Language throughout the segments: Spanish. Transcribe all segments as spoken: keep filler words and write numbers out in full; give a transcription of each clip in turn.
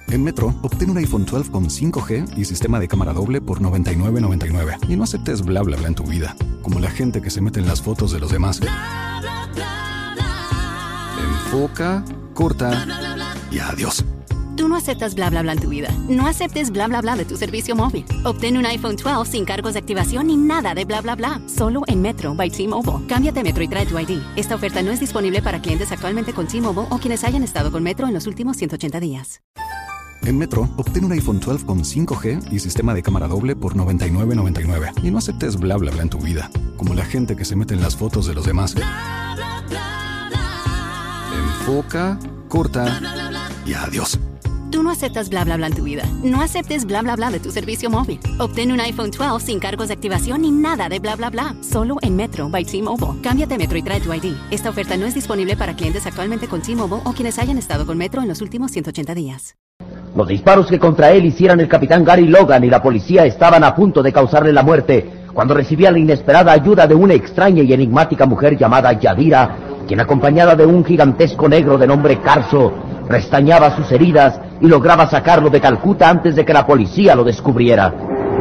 En Metro, obtén un iPhone doce con cinco G y sistema de cámara doble por noventa y nueve noventa y nueve. Y no aceptes bla bla bla en tu vida, como la gente que se mete en las fotos de los demás. Bla, bla, bla, bla. Enfoca, corta bla, bla, bla, bla. Y adiós. Tú no aceptas bla bla bla en tu vida. No aceptes bla bla bla de tu servicio móvil. Obtén un iPhone doce sin cargos de activación ni nada de bla bla bla. Solo en Metro by T-Mobile. Cámbiate a Metro y trae tu I D. Esta oferta no es disponible para clientes actualmente con T-Mobile o quienes hayan estado con Metro en los últimos ciento ochenta días. En Metro, obtén un iPhone doce con cinco G y sistema de cámara doble por noventa y nueve noventa y nueve. Y no aceptes bla bla bla en tu vida, como la gente que se mete en las fotos de los demás. Bla, bla, bla, bla. Enfoca, corta bla, bla, bla, bla. Y adiós. Tú no aceptas bla bla bla en tu vida. No aceptes bla bla bla de tu servicio móvil. Obtén un iPhone doce sin cargos de activación ni nada de bla bla bla. Solo en Metro by T-Mobile. Cámbiate a Metro y trae tu I D. Esta oferta no es disponible para clientes actualmente con T-Mobile o quienes hayan estado con Metro en los últimos ciento ochenta días. Los disparos que contra él hicieran el capitán Gary Logan y la policía estaban a punto de causarle la muerte cuando recibía la inesperada ayuda de una extraña y enigmática mujer llamada Yadira, quien acompañada de un gigantesco negro de nombre Carso, restañaba sus heridas y lograba sacarlo de Calcuta antes de que la policía lo descubriera.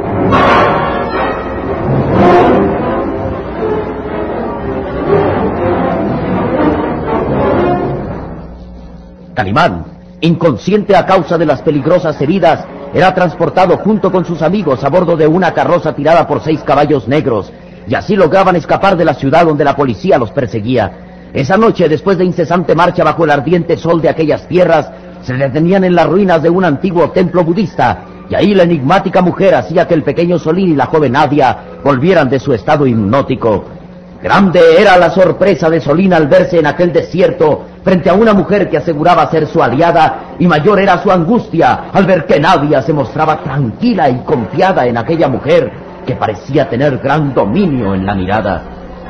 Calimán, inconsciente a causa de las peligrosas heridas, era transportado junto con sus amigos a bordo de una carroza tirada por seis caballos negros, y así lograban escapar de la ciudad donde la policía los perseguía. Esa noche, después de incesante marcha bajo el ardiente sol de aquellas tierras, se detenían en las ruinas de un antiguo templo budista, y ahí la enigmática mujer hacía que el pequeño Solín y la joven Nadia volvieran de su estado hipnótico. Grande era la sorpresa de Solín al verse en aquel desierto frente a una mujer que aseguraba ser su aliada, y mayor era su angustia al ver que Nadia se mostraba tranquila y confiada en aquella mujer que parecía tener gran dominio en la mirada.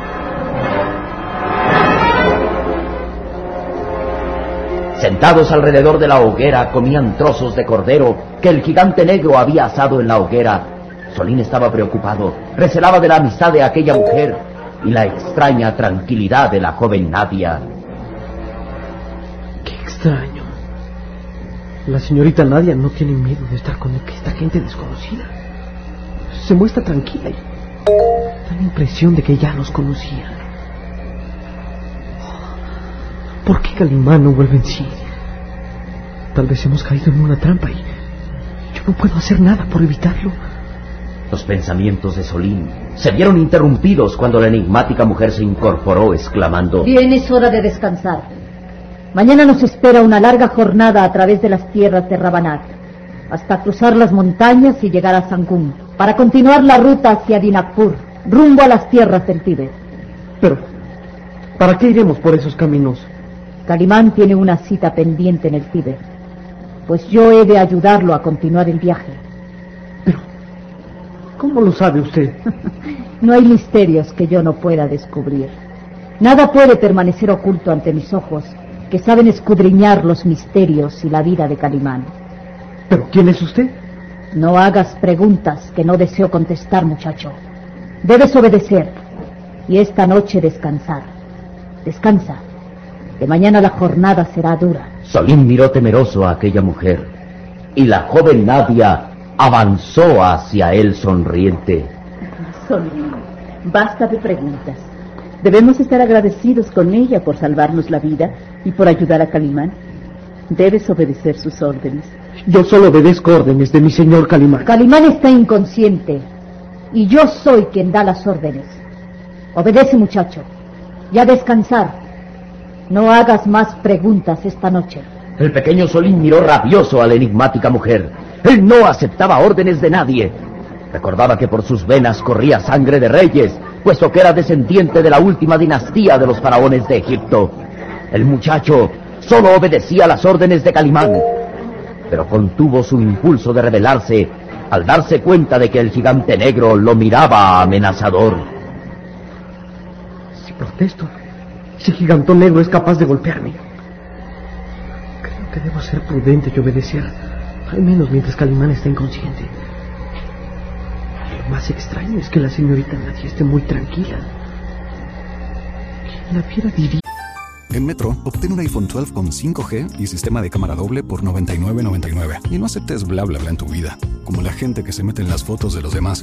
Sentados alrededor de la hoguera comían trozos de cordero que el gigante negro había asado en la hoguera. Solín estaba preocupado, recelaba de la amistad de aquella mujer y la extraña tranquilidad de la joven Nadia. Qué extraño. La señorita Nadia no tiene miedo de estar con esta gente desconocida. Se muestra tranquila y da la impresión de que ya los conocía. ¿Por qué Calimán no vuelve en sí? Tal vez hemos caído en una trampa y yo no puedo hacer nada por evitarlo. Los pensamientos de Solín se vieron interrumpidos cuando la enigmática mujer se incorporó exclamando: Bien, es hora de descansar. Mañana nos espera una larga jornada a través de las tierras de Rabanat, hasta cruzar las montañas y llegar a Sangún, para continuar la ruta hacia Dinakpur, rumbo a las tierras del Tíbet. Pero, ¿para qué iremos por esos caminos? Calimán tiene una cita pendiente en el Tíbet, pues yo he de ayudarlo a continuar el viaje. Pero, ¿cómo lo sabe usted? No hay misterios que yo no pueda descubrir. Nada puede permanecer oculto ante mis ojos, que saben escudriñar los misterios y la vida de Calimán. ¿Pero quién es usted? No hagas preguntas que no deseo contestar, muchacho. Debes obedecer y esta noche descansar. Descansa. De mañana la jornada será dura. Solín miró temeroso a aquella mujer y la joven Nadia avanzó hacia él sonriente. Solín, basta de preguntas. Debemos estar agradecidos con ella por salvarnos la vida y por ayudar a Calimán. Debes obedecer sus órdenes. Yo solo obedezco órdenes de mi señor Calimán. Calimán está inconsciente y yo soy quien da las órdenes. Obedece, muchacho, y a descansar. No hagas más preguntas esta noche. El pequeño Solín miró rabioso a la enigmática mujer. Él no aceptaba órdenes de nadie. Recordaba que por sus venas corría sangre de reyes, puesto que era descendiente de la última dinastía de los faraones de Egipto. El muchacho solo obedecía las órdenes de Calimán, pero contuvo su impulso de rebelarse al darse cuenta de que el gigante negro lo miraba amenazador. Si protesto, ese gigantón negro es capaz de golpearme. Creo que debo ser prudente y obedecer, al menos mientras Calimán está inconsciente. Lo más extraño es que la señorita Nadia esté muy tranquila. ¿Quién la viera diría? En Metro, obtén un iPhone doce con cinco G y sistema de cámara doble por noventa y nueve noventa y nueve. Y no aceptes bla bla bla en tu vida, como la gente que se mete en las fotos de los demás.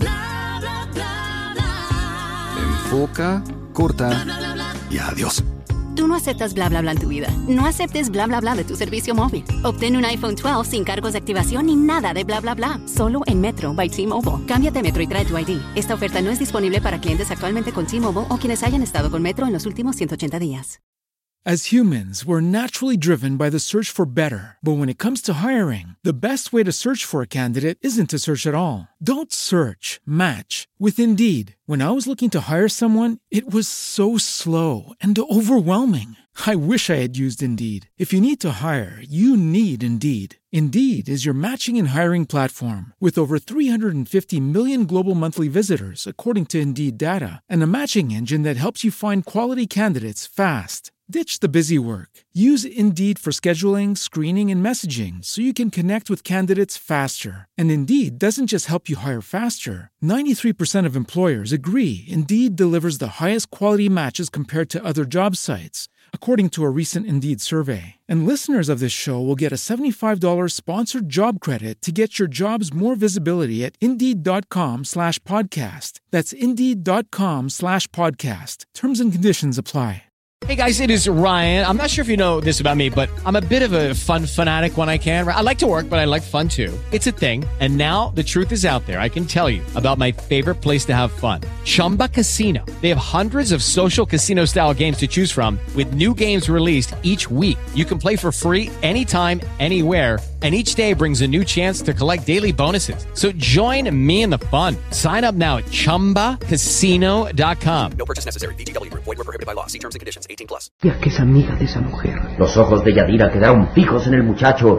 Enfoca, corta y adiós. Tú no aceptas bla bla bla en tu vida. No aceptes bla bla bla de tu servicio móvil. Obtén un iPhone doce sin cargos de activación ni nada de bla bla bla. Solo en Metro by T-Mobile. Cámbiate a Metro y trae tu I D. Esta oferta no es disponible para clientes actualmente con T-Mobile o quienes hayan estado con Metro en los últimos ciento ochenta días. As humans, we're naturally driven by the search for better. But when it comes to hiring, the best way to search for a candidate isn't to search at all. Don't search, match with Indeed. When I was looking to hire someone, it was so slow and overwhelming. I wish I had used Indeed. If you need to hire, you need Indeed. Indeed is your matching and hiring platform with over three hundred fifty million global monthly visitors, according to Indeed data, and a matching engine that helps you find quality candidates fast. Ditch the busy work. Use Indeed for scheduling, screening, and messaging so you can connect with candidates faster. And Indeed doesn't just help you hire faster. ninety-three percent of employers agree Indeed delivers the highest quality matches compared to other job sites, according to a recent Indeed survey. And listeners of this show will get a seventy-five dollars sponsored job credit to get your jobs more visibility at Indeed.com slash podcast. That's Indeed.com slash podcast. Terms and conditions apply. Hey guys, it is Ryan. I'm not sure if you know this about me, but I'm a bit of a fun fanatic when I can. I like to work, but I like fun too. It's a thing. And now the truth is out there. I can tell you about my favorite place to have fun. Chumba Casino. They have hundreds of social casino style games to choose from with new games released each week. You can play for free anytime, anywhere. And each day brings a new chance to collect daily bonuses. So join me in the fun. Sign up now at chumba casino dot com. No purchase necessary. V G W. Void where prohibited by law. See terms and conditions. eighteen plus. Ya que es amiga de esa mujer. Los ojos de Yadira quedaron fijos en el muchacho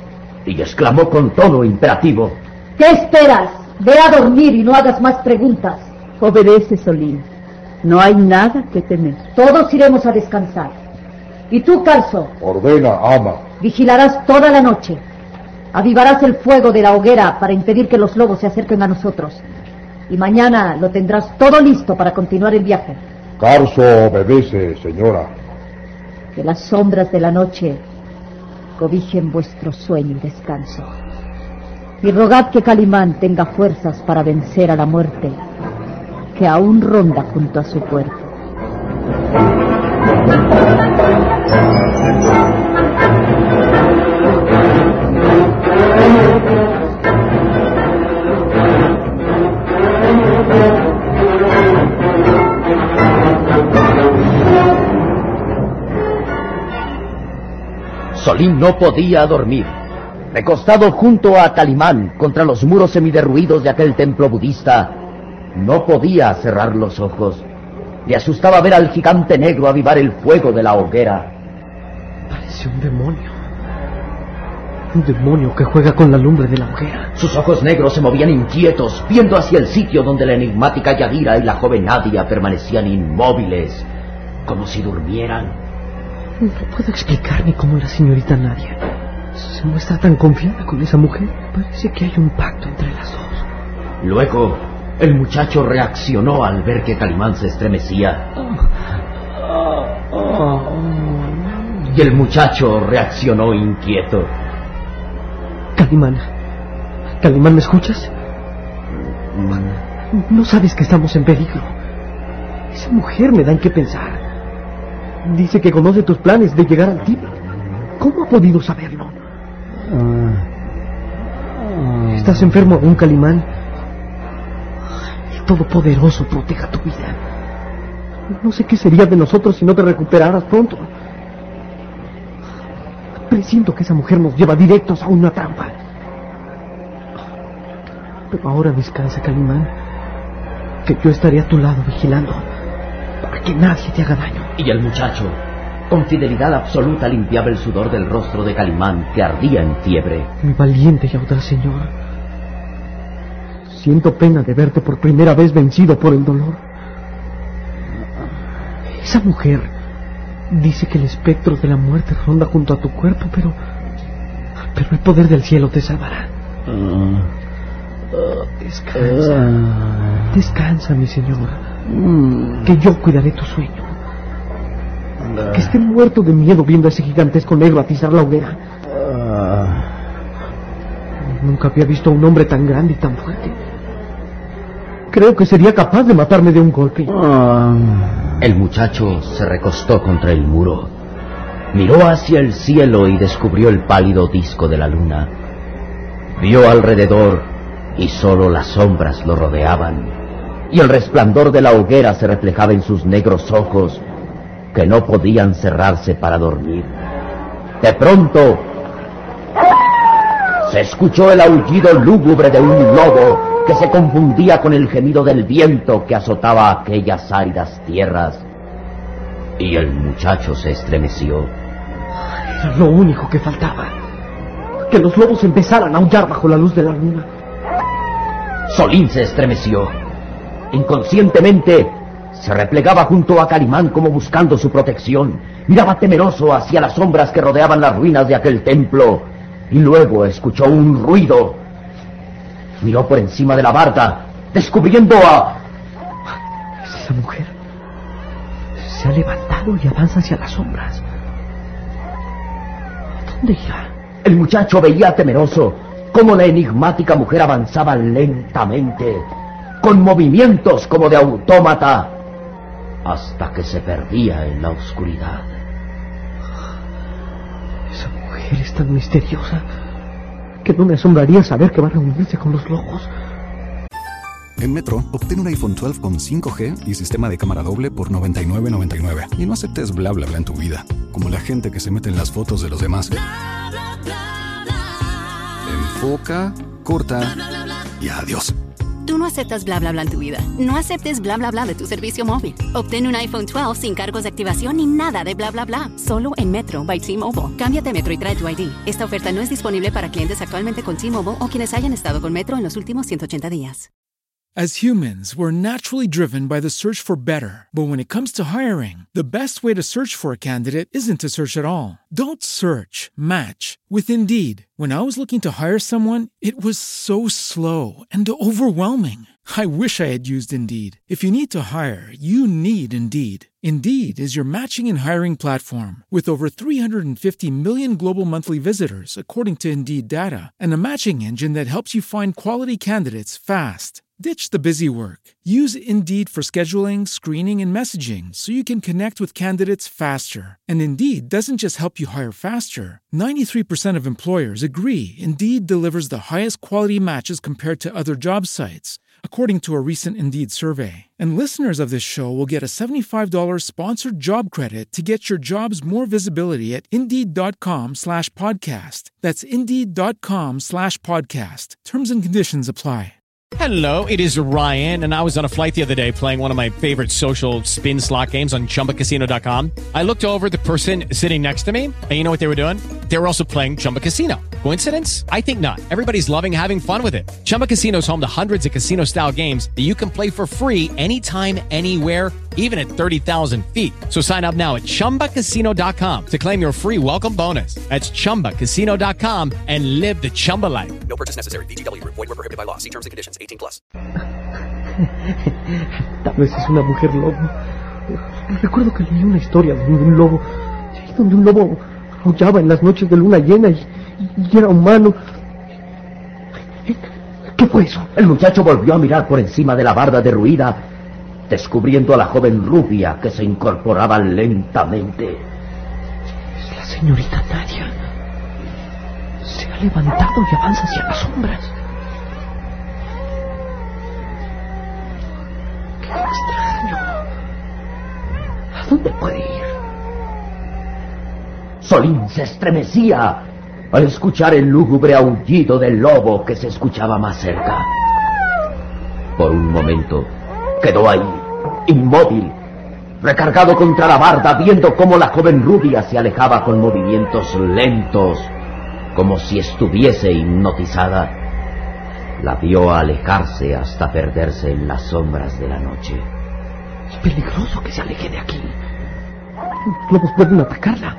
y exclamó con tono imperativo: ¿Qué esperas? Ve a dormir y no hagas más preguntas. Obedece, Solín. No hay nada que temer. Todos iremos a descansar. ¿Y tú, Calzo? Ordena, ama. Vigilarás toda la noche. Avivarás el fuego de la hoguera para impedir que los lobos se acerquen a nosotros. Y mañana lo tendrás todo listo para continuar el viaje. Carso obedece, señora. Que las sombras de la noche cobijen vuestro sueño y descanso. Y rogad que Calimán tenga fuerzas para vencer a la muerte, que aún ronda junto a su puerto. Solín no podía dormir. Recostado junto a Calimán contra los muros semiderruidos de aquel templo budista, no podía cerrar los ojos. Le asustaba ver al gigante negro avivar el fuego de la hoguera. Parece un demonio. Un demonio que juega con la lumbre de la hoguera. Sus ojos negros se movían inquietos, viendo hacia el sitio donde la enigmática Yadira y la joven Nadia permanecían inmóviles, como si durmieran. No puedo explicarme cómo la señorita Nadia se muestra tan confiada con esa mujer. Parece que hay un pacto entre las dos. Luego, el muchacho reaccionó al ver que Calimán se estremecía. Y el muchacho reaccionó inquieto. Calimán, Calimán, ¿me escuchas? No sabes que estamos en peligro. Esa mujer me da en qué pensar. Dice que conoce tus planes de llegar al Tíbet. ¿Cómo ha podido saberlo? ¿Estás enfermo aún, Calimán? El Todopoderoso proteja tu vida. No sé qué sería de nosotros si no te recuperaras pronto. Presiento que esa mujer nos lleva directos a una trampa. Pero ahora descansa, Calimán, que yo estaré a tu lado vigilando para que nadie te haga daño. Y el muchacho, con fidelidad absoluta, limpiaba el sudor del rostro de Calimán, que ardía en fiebre. Mi valiente y audaz señor, siento pena de verte por primera vez vencido por el dolor. Esa mujer dice que el espectro de la muerte ronda junto a tu cuerpo, pero... pero el poder del cielo te salvará. Descansa. Descansa, mi señor, que yo cuidaré tu sueño. Que esté muerto de miedo viendo a ese gigantesco negro atizar la hoguera. Nunca había visto a un hombre tan grande y tan fuerte. Creo que sería capaz de matarme de un golpe. El muchacho se recostó contra el muro. Miró hacia el cielo y descubrió el pálido disco de la luna. Vio alrededor y solo las sombras lo rodeaban. Y el resplandor de la hoguera se reflejaba en sus negros ojos, que no podían cerrarse para dormir. De pronto, se escuchó el aullido lúgubre de un lobo que se confundía con el gemido del viento que azotaba aquellas áridas tierras. Y el muchacho se estremeció. Era lo único que faltaba. Que los lobos empezaran a aullar bajo la luz de la luna. Solín se estremeció. Inconscientemente se replegaba junto a Calimán como buscando su protección. Miraba temeroso hacia las sombras que rodeaban las ruinas de aquel templo. Y luego escuchó un ruido. Miró por encima de la barda, descubriendo a... Esa mujer se ha levantado y avanza hacia las sombras. ¿Dónde irá? El muchacho veía temeroso cómo la enigmática mujer avanzaba lentamente, con movimientos como de autómata, hasta que se perdía en la oscuridad. Esa mujer es tan misteriosa que no me asombraría saber que va a reunirse con los lobos. En Metro, obtén un iPhone doce con cinco G y sistema de cámara doble por noventa y nueve noventa y nueve. Y no aceptes bla bla bla en tu vida, como la gente que se mete en las fotos de los demás. Enfoca, corta y adiós. Tú no aceptas bla bla bla en tu vida. No aceptes bla bla bla de tu servicio móvil. Obtén un iPhone doce sin cargos de activación ni nada de bla bla bla. Solo en Metro by T-Mobile. Cámbiate a Metro y trae tu I D. Esta oferta no es disponible para clientes actualmente con T-Mobile o quienes hayan estado con Metro en los últimos ciento ochenta días. As humans, we're naturally driven by the search for better. But when it comes to hiring, the best way to search for a candidate isn't to search at all. Don't search, match with Indeed. When I was looking to hire someone, it was so slow and overwhelming. I wish I had used Indeed. If you need to hire, you need Indeed. Indeed is your matching and hiring platform with over three hundred fifty million global monthly visitors, according to Indeed data, and a matching engine that helps you find quality candidates fast. Ditch the busy work. Use Indeed for scheduling, screening, and messaging so you can connect with candidates faster. And Indeed doesn't just help you hire faster. ninety-three percent of employers agree Indeed delivers the highest quality matches compared to other job sites, according to a recent Indeed survey. And listeners of this show will get a seventy-five dollars sponsored job credit to get your jobs more visibility at Indeed.com slash podcast. That's Indeed.com slash podcast. Terms and conditions apply. Hello, it is Ryan, and I was on a flight the other day playing one of my favorite social spin slot games on Chumba Casino dot com. I looked over at the person sitting next to me, and you know what they were doing? They were also playing Chumba Casino. Coincidence? I think not. Everybody's loving having fun with it. Chumba Casino is home to hundreds of casino-style games that you can play for free anytime, anywhere, even at thirty thousand feet. So sign up now at Chumba Casino dot com to claim your free welcome bonus. That's Chumba Casino dot com and live the Chumba life. No purchase necessary. V G W. Void where prohibited by law. See terms and conditions. eighteen plus. Tal vez es una mujer lobo. Recuerdo que leí una historia de un lobo, sí, donde un lobo aullaba en las noches de luna llena y, y era humano. ¿Qué fue eso? El muchacho volvió a mirar por encima de la barda derruida, descubriendo a la joven rubia que se incorporaba lentamente. Es la señorita Nadia. Se ha levantado y avanza hacia las sombras. ¡Qué extraño! ¿A dónde puede ir? Solín se estremecía al escuchar el lúgubre aullido del lobo que se escuchaba más cerca. Por un momento quedó ahí, inmóvil, recargado contra la barda, viendo cómo la joven rubia se alejaba con movimientos lentos, como si estuviese hipnotizada. La vio alejarse hasta perderse en las sombras de la noche. Es peligroso que se aleje de aquí. Los lobos pueden atacarla.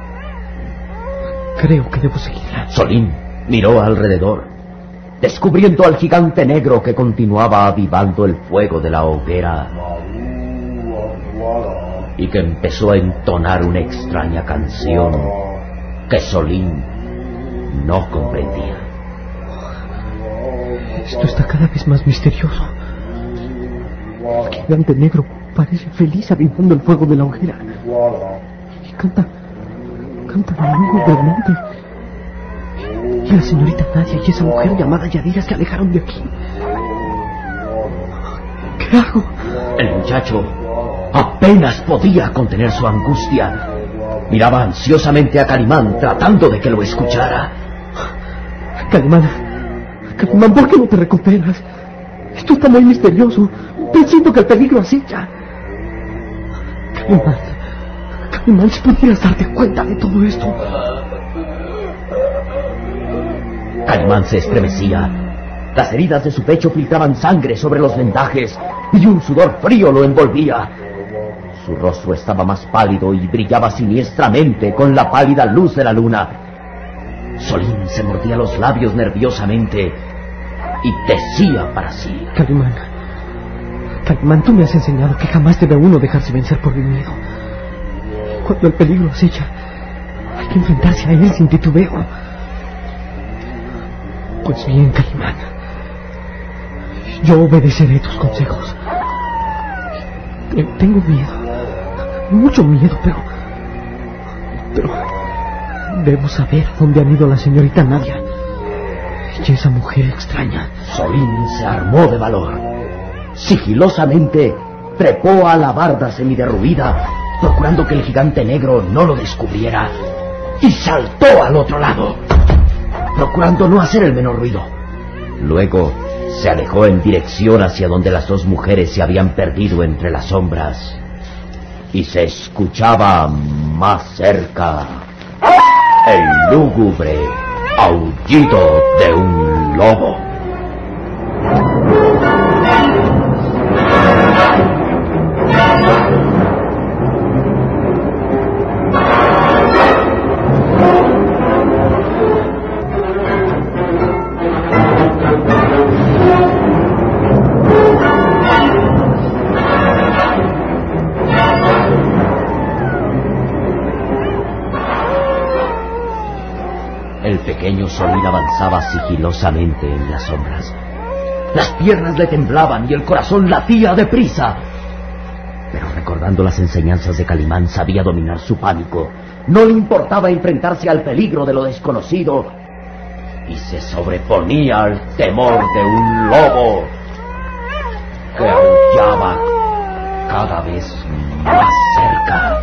Creo que debo seguirla. Solín miró alrededor, descubriendo al gigante negro que continuaba avivando el fuego de la hoguera. y que empezó a entonar una extraña canción que Solín no comprendía. Esto está cada vez más misterioso. El gigante negro parece feliz avivando el fuego de la hoguera. Y canta, canta lúgubremente. Y la señorita Nadia y esa mujer llamada Yadira se alejaron de aquí. ¿Qué hago? El muchacho apenas podía contener su angustia. Miraba ansiosamente a Calimán, tratando de que lo escuchara. Calimán, Calimán, ¿por qué no te recuperas? Esto está muy misterioso. Presiento que el peligro acecha. Calimán, Calimán, si pudieras darte cuenta de todo esto. Calimán se estremecía. Las heridas de su pecho filtraban sangre sobre los vendajes y un sudor frío lo envolvía. Su rostro estaba más pálido y brillaba siniestramente con la pálida luz de la luna. Solín se mordía los labios nerviosamente y decía para sí: Calimán, Calimán, tú me has enseñado que jamás debe uno dejarse vencer por el miedo. Cuando el peligro acecha, hay que enfrentarse a él sin titubeo. Pues bien, Calimán, yo obedeceré tus consejos. Tengo miedo, mucho miedo, pero... Pero... debo saber dónde han ido la señorita Nadia y esa mujer extraña. Solín se armó de valor. Sigilosamente trepó a la barda semiderruida, procurando que el gigante negro no lo descubriera, y saltó al otro lado, procurando no hacer el menor ruido. Luego se alejó en dirección hacia donde las dos mujeres se habían perdido entre las sombras, y se escuchaba más cerca el lúgubre aullido de un lobo. El pequeño Solín avanzaba sigilosamente en las sombras. Las piernas le temblaban y el corazón latía deprisa. Pero recordando las enseñanzas de Calimán, sabía dominar su pánico. No le importaba enfrentarse al peligro de lo desconocido, y se sobreponía al temor de un lobo que aullaba cada vez más cerca.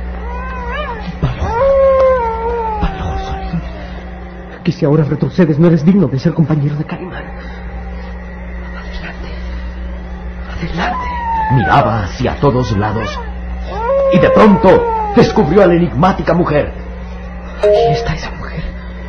Que si ahora retrocedes no eres digno de ser compañero de Calimán. Adelante, adelante. Miraba hacia todos lados y de pronto descubrió a la enigmática mujer. Aquí está esa mujer.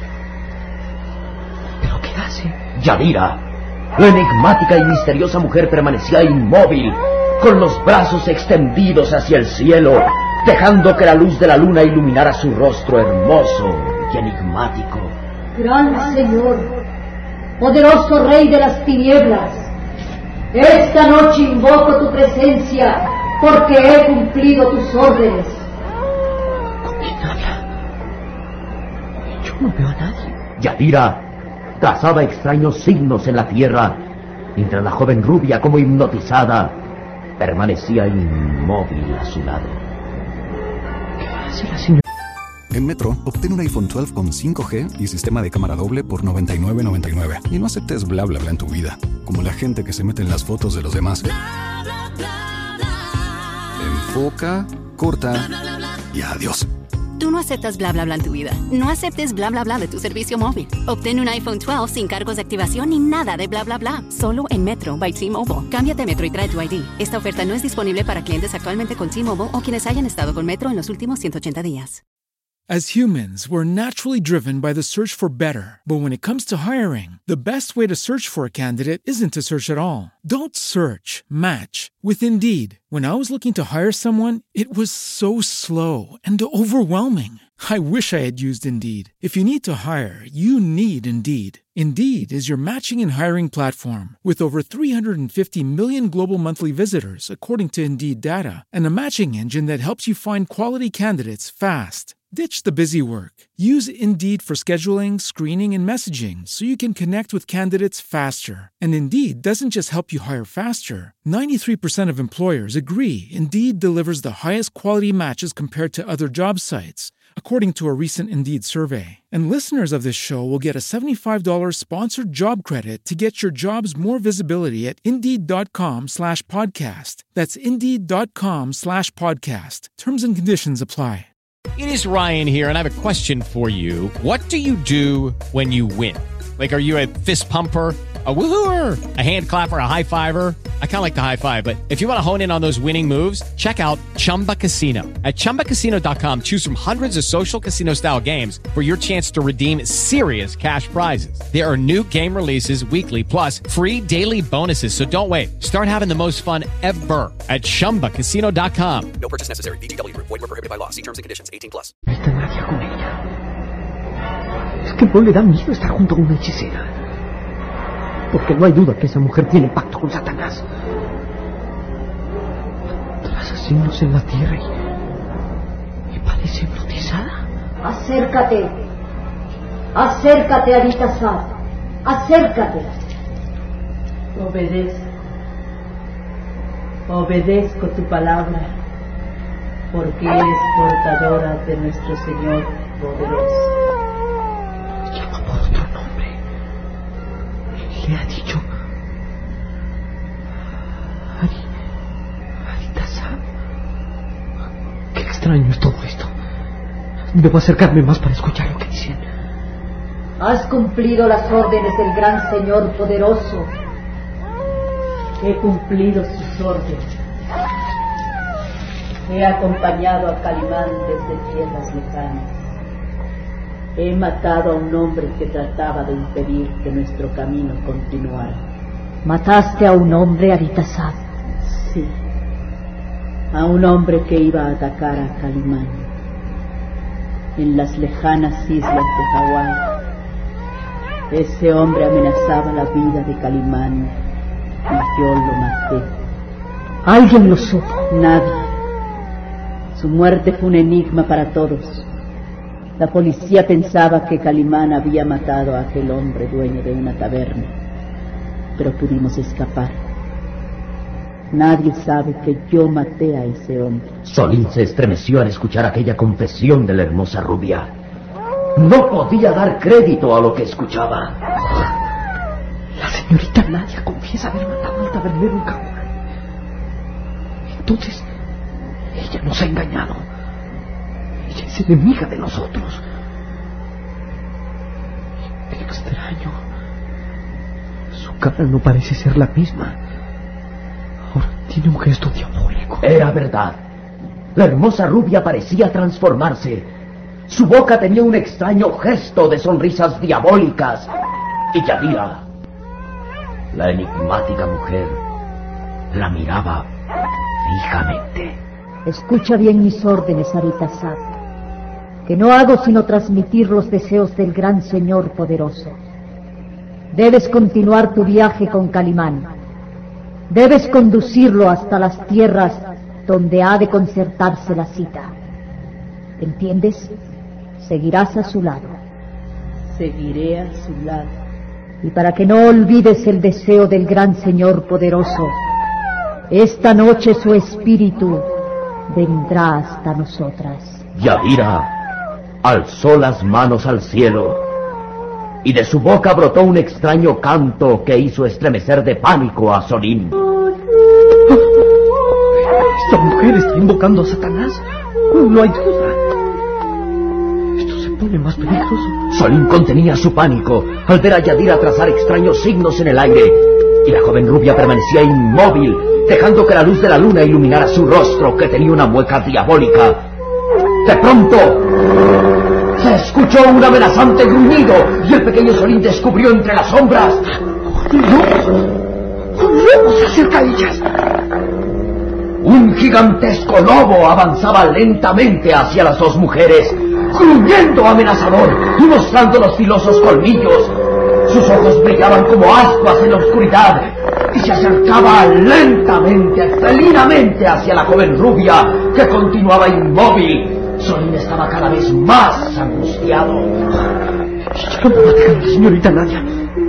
¿Pero qué hace? Yadira. La enigmática y misteriosa mujer permanecía inmóvil, con los brazos extendidos hacia el cielo, dejando que la luz de la luna iluminara su rostro hermoso y enigmático. Gran Señor, poderoso Rey de las tinieblas, esta noche invoco tu presencia porque he cumplido tus órdenes. ¿Con quién habla? Yo no veo a nadie. Yadira trazaba extraños signos en la tierra, mientras la joven rubia, como hipnotizada, permanecía inmóvil a su lado. ¿Qué hace la señora? En Metro, obtén un iPhone doce con cinco G y sistema de cámara doble por noventa y nueve noventa y nueve. Y no aceptes bla bla bla en tu vida, como la gente que se mete en las fotos de los demás. Enfoca, corta y adiós. Tú no aceptas bla bla bla en tu vida. No aceptes bla bla bla de tu servicio móvil. Obtén un iPhone doce sin cargos de activación ni nada de bla bla bla. Solo en Metro by T-Mobile. Cámbiate a Metro y trae tu I D. Esta oferta no es disponible para clientes actualmente con T-Mobile o quienes hayan estado con Metro en los últimos ciento ochenta días. As humans, we're naturally driven by the search for better. But when it comes to hiring, the best way to search for a candidate isn't to search at all. Don't search, match with Indeed. When I was looking to hire someone, it was so slow and overwhelming. I wish I had used Indeed. If you need to hire, you need Indeed. Indeed is your matching and hiring platform with over three hundred fifty million global monthly visitors, according to Indeed data, and a matching engine that helps you find quality candidates fast. Ditch the busy work. Use Indeed for scheduling, screening, and messaging so you can connect with candidates faster. And Indeed doesn't just help you hire faster. ninety-three percent of employers agree Indeed delivers the highest quality matches compared to other job sites, according to a recent Indeed survey. And listeners of this show will get a seventy-five dollars sponsored job credit to get your jobs more visibility at Indeed.com slash podcast. That's Indeed.com slash podcast. Terms and conditions apply. It is Ryan here, and I have a question for you. What do you do when you win? Like, are you a fist pumper, a woo-hooer, a hand clapper, a high-fiver? I kind of like the high-five, but if you want to hone in on those winning moves, check out Chumba Casino. At Chumba Casino dot com, choose from hundreds of social casino-style games for your chance to redeem serious cash prizes. There are new game releases weekly, plus free daily bonuses, so don't wait. Start having the most fun ever at Chumba Casino dot com. No purchase necessary. V G W. Void where prohibited by law. See terms and conditions. eighteen plus. No está nadie con ella. Es que no le da miedo estar junto a una hechicera. Porque no hay duda que esa mujer tiene pacto con Satanás. Tras asesinos en la tierra y, y parece hipnotizada. Acércate. Acércate, Abitasar. Acércate. Obedezco. Obedezco tu palabra, porque eres portadora de nuestro Señor poderoso. Llama por otro nombre. Le ha dicho Ari, Abitasar. Qué extraño es todo esto. Debo acercarme más para escuchar lo que dicen. Has cumplido las órdenes del gran Señor poderoso. He cumplido sus órdenes. He acompañado a Calimán desde tierras lejanas. He matado a un hombre que trataba de impedir que nuestro camino continuara. ¿Mataste a un hombre, Abitasar? Sí, a un hombre que iba a atacar a Calimán en las lejanas islas de Hawái. Ese hombre amenazaba la vida de Calimán y yo lo maté. ¿Alguien lo supo? Nadie. Su muerte fue un enigma para todos. La policía pensaba que Calimán había matado a aquel hombre dueño de una taberna, pero pudimos escapar. Nadie sabe que yo maté a ese hombre. Solín se estremeció al escuchar aquella confesión de la hermosa rubia. No podía dar crédito a lo que escuchaba. La señorita Nadia confiesa haber matado al tabernero en Hawái. Entonces, ella nos ha engañado. Ella es enemiga de nosotros. Qué extraño. Su cara no parece ser la misma. Ahora tiene un gesto diabólico. Era verdad. La hermosa rubia parecía transformarse. Su boca tenía un extraño gesto de sonrisas diabólicas. Y Yadira, la enigmática mujer, la miraba fijamente. Escucha bien mis órdenes, Abitasar, que no hago sino transmitir los deseos del gran Señor poderoso. Debes continuar tu viaje con Calimán. Debes conducirlo hasta las tierras donde ha de concertarse la cita. ¿Entiendes? Seguirás a su lado. Seguiré a su lado. Y para que no olvides el deseo del gran Señor poderoso, esta noche su espíritu vendrá hasta nosotras. Yadira alzó las manos al cielo y de su boca brotó un extraño canto que hizo estremecer de pánico a Solín. Esta mujer está invocando a Satanás. No hay duda. Esto se pone más peligroso. Solín contenía su pánico al ver a Yadira trazar extraños signos en el aire, y la joven rubia permanecía inmóvil, dejando que la luz de la luna iluminara su rostro, que tenía una mueca diabólica. De pronto, se escuchó un amenazante gruñido y el pequeño Solín descubrió entre las sombras... ¡Un lobo! ¡Un lobo se acerca a ellas! Un gigantesco lobo avanzaba lentamente hacia las dos mujeres, gruñendo amenazador y mostrando los filosos colmillos. Sus ojos brillaban como ascuas en la oscuridad y se acercaba lentamente, felinamente hacia la joven rubia que continuaba inmóvil. Solín estaba cada vez más angustiado. ¡Ya no va a dejar la señorita Nadia!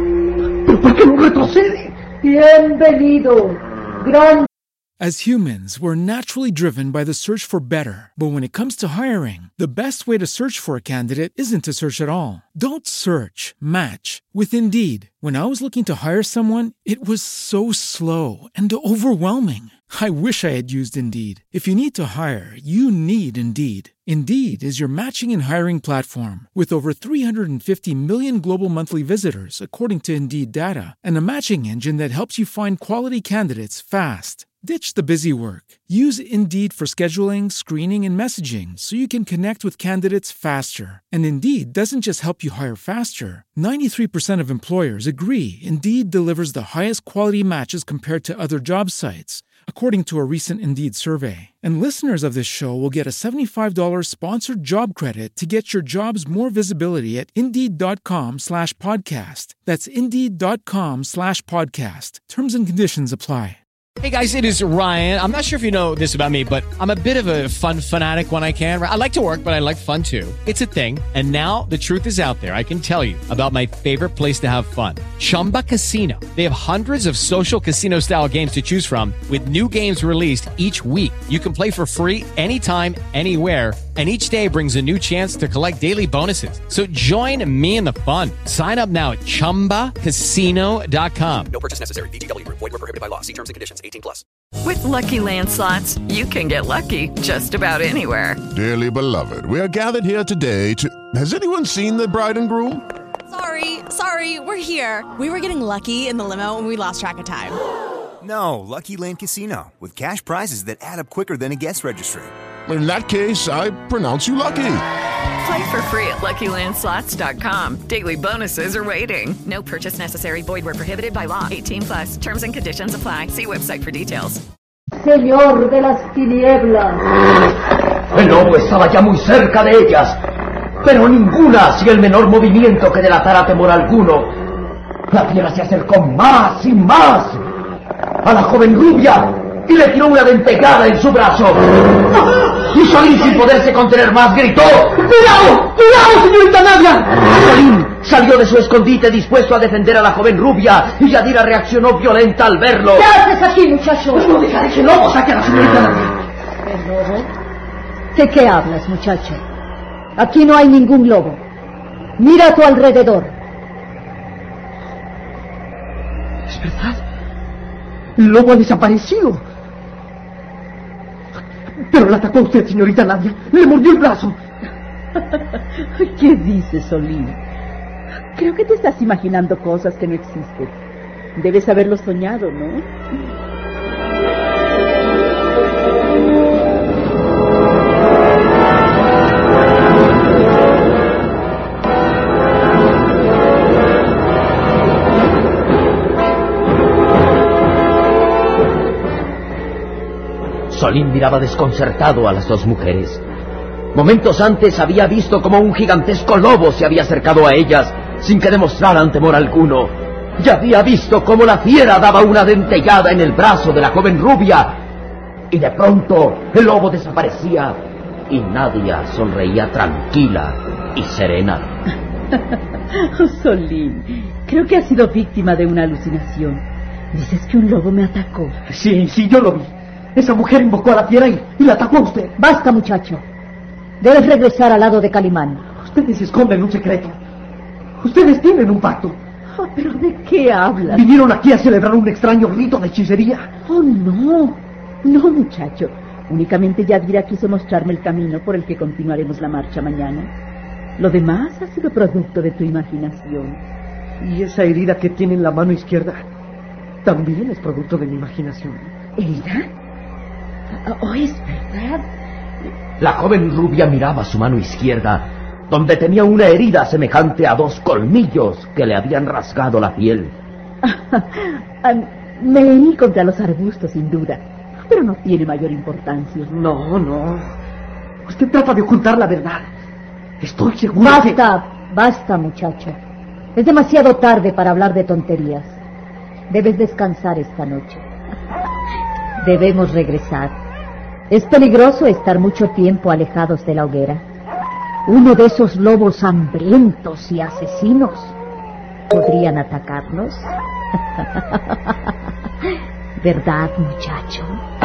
¿Pero por qué no retrocede? Bienvenido, gran... As humans, we're naturally driven by the search for better. But when it comes to hiring, the best way to search for a candidate isn't to search at all. Don't search, match with Indeed. When I was looking to hire someone, it was so slow and overwhelming. I wish I had used Indeed. If you need to hire, you need Indeed. Indeed is your matching and hiring platform with over three hundred fifty million global monthly visitors, according to Indeed data, and a matching engine that helps you find quality candidates fast. Ditch the busy work. Use Indeed for scheduling, screening, and messaging so you can connect with candidates faster. And Indeed doesn't just help you hire faster. ninety-three percent of employers agree Indeed delivers the highest quality matches compared to other job sites, according to a recent Indeed survey. And listeners of this show will get a seventy-five dollars sponsored job credit to get your jobs more visibility at Indeed.com slash podcast. That's Indeed.com slash podcast. Terms and conditions apply. Hey guys, it is Ryan. I'm not sure if you know this about me, but I'm a bit of a fun fanatic when I can. I like to work, but I like fun too. It's a thing. And now the truth is out there. I can tell you about my favorite place to have fun. Chumba Casino. They have hundreds of social casino style games to choose from with new games released each week. You can play for free anytime, anywhere. And each day brings a new chance to collect daily bonuses. So join me in the fun. Sign up now at Chumba Casino dot com. No purchase necessary. V G W. Void where prohibited by law. See terms and conditions. eighteen plus. With Lucky Land Slots, you can get lucky just about anywhere. Dearly beloved, we are gathered here today to... Has anyone seen the bride and groom? Sorry, sorry, we're here. We were getting lucky in the limo and we lost track of time. No, Lucky Land Casino, with cash prizes that add up quicker than a guest registry. In that case, I pronounce you lucky. Play for free at Lucky Land Slots dot com. Daily bonuses are waiting. No purchase necessary. Void where prohibited by law. eighteen plus. Terms and conditions apply. See website for details. Señor de las tinieblas. El lobo estaba ya muy cerca de ellas, pero ninguna hacía el menor movimiento que delatara temor alguno. La fiera se acercó más y más a la joven rubia y le tiró una dentegada en su brazo. Y Solín, sin poderse contener más, gritó: ¡Cuidado! ¡Cuidado, señorita Nadia! Solín salió de su escondite dispuesto a defender a la joven rubia y Yadira reaccionó violenta al verlo. ¿Qué haces aquí, muchacho? Pues no dejaré que el lobo saque a la señorita Nadia. ¿El lobo? ¿De qué hablas, muchacho? Aquí no hay ningún lobo. Mira a tu alrededor. Es verdad. El lobo ha desaparecido. Pero la atacó usted, señorita Nadia. Le mordió el brazo. ¿Qué dices, Solín? Creo que te estás imaginando cosas que no existen. Debes haberlo soñado, ¿no? Solín miraba desconcertado a las dos mujeres. Momentos antes había visto cómo un gigantesco lobo se había acercado a ellas sin que demostraran temor alguno. Y había visto cómo la fiera daba una dentellada en el brazo de la joven rubia. Y de pronto el lobo desaparecía y Nadia sonreía tranquila y serena. Oh, Solín, creo que has sido víctima de una alucinación. Dices que un lobo me atacó. Sí, sí, yo lo vi. Esa mujer invocó a la fiera y, y la atacó a usted. Basta, muchacho. Debes regresar al lado de Calimán. Ustedes esconden un secreto. Ustedes tienen un pacto. Oh, ¿pero de qué hablas? Vinieron aquí a celebrar un extraño rito de hechicería. Oh, no. No, muchacho. Únicamente Yadira quiso mostrarme el camino por el que continuaremos la marcha mañana. Lo demás ha sido producto de tu imaginación. Y esa herida que tiene en la mano izquierda también es producto de mi imaginación. ¿Herida? Oh, es verdad. La joven rubia miraba su mano izquierda, donde tenía una herida semejante a dos colmillos que le habían rasgado la piel. Me herí contra los arbustos, sin duda, pero no tiene mayor importancia. No, no. Usted trata de ocultar la verdad. Estoy seguro que... Basta, basta, muchacho. Es demasiado tarde para hablar de tonterías. Debes descansar esta noche. Debemos regresar. Es peligroso estar mucho tiempo alejados de la hoguera. Uno de esos lobos hambrientos y asesinos podrían atacarnos. ¿Verdad, muchacho?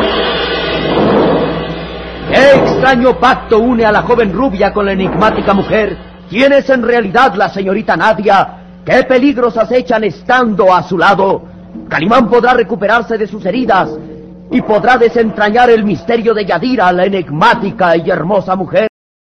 ¿Qué extraño pacto une a la joven rubia con la enigmática mujer? ¿Quién es en realidad la señorita Nadia? ¿Qué peligros acechan estando a su lado? Calimán podrá recuperarse de sus heridas y podrá desentrañar el misterio de Yadira, la enigmática y hermosa mujer.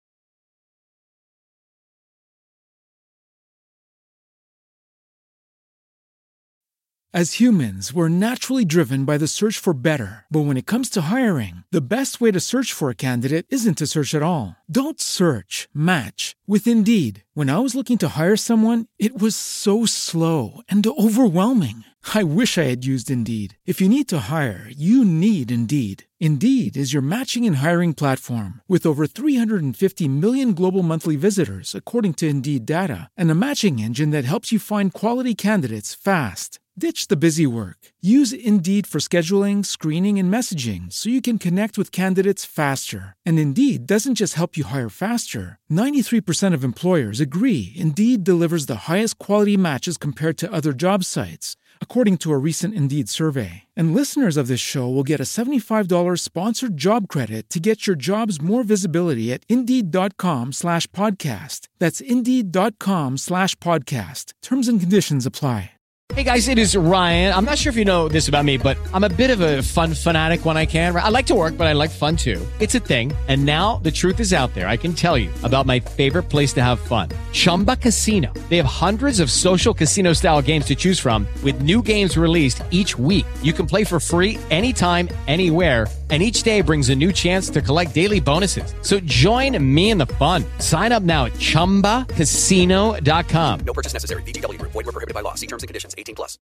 As humans, we're naturally driven by the search for better. But when it comes to hiring, the best way to search for a candidate isn't to search at all. Don't search, match with Indeed. When I was looking to hire someone, it was so slow and overwhelming. I wish I had used Indeed. If you need to hire, you need Indeed. Indeed is your matching and hiring platform with over three hundred fifty million global monthly visitors, according to Indeed data, and a matching engine that helps you find quality candidates fast. Ditch the busy work. Use Indeed for scheduling, screening, and messaging so you can connect with candidates faster. And Indeed doesn't just help you hire faster. ninety-three percent of employers agree Indeed delivers the highest quality matches compared to other job sites, according to a recent Indeed survey. And listeners of this show will get a seventy-five dollars sponsored job credit to get your jobs more visibility at Indeed.com slash podcast. That's Indeed.com slash podcast. Terms and conditions apply. Hey guys, it is Ryan. I'm not sure if you know this about me, but I'm a bit of a fun fanatic when I can. I like to work, but I like fun too. It's a thing. And now the truth is out there. I can tell you about my favorite place to have fun. Chumba Casino. They have hundreds of social casino style games to choose from with new games released each week. You can play for free anytime, anywhere. And each day brings a new chance to collect daily bonuses. So join me in the fun. Sign up now at Chumba Casino dot com. No purchase necessary. V G W. Void where prohibited by law. See terms and conditions. eighteen plus.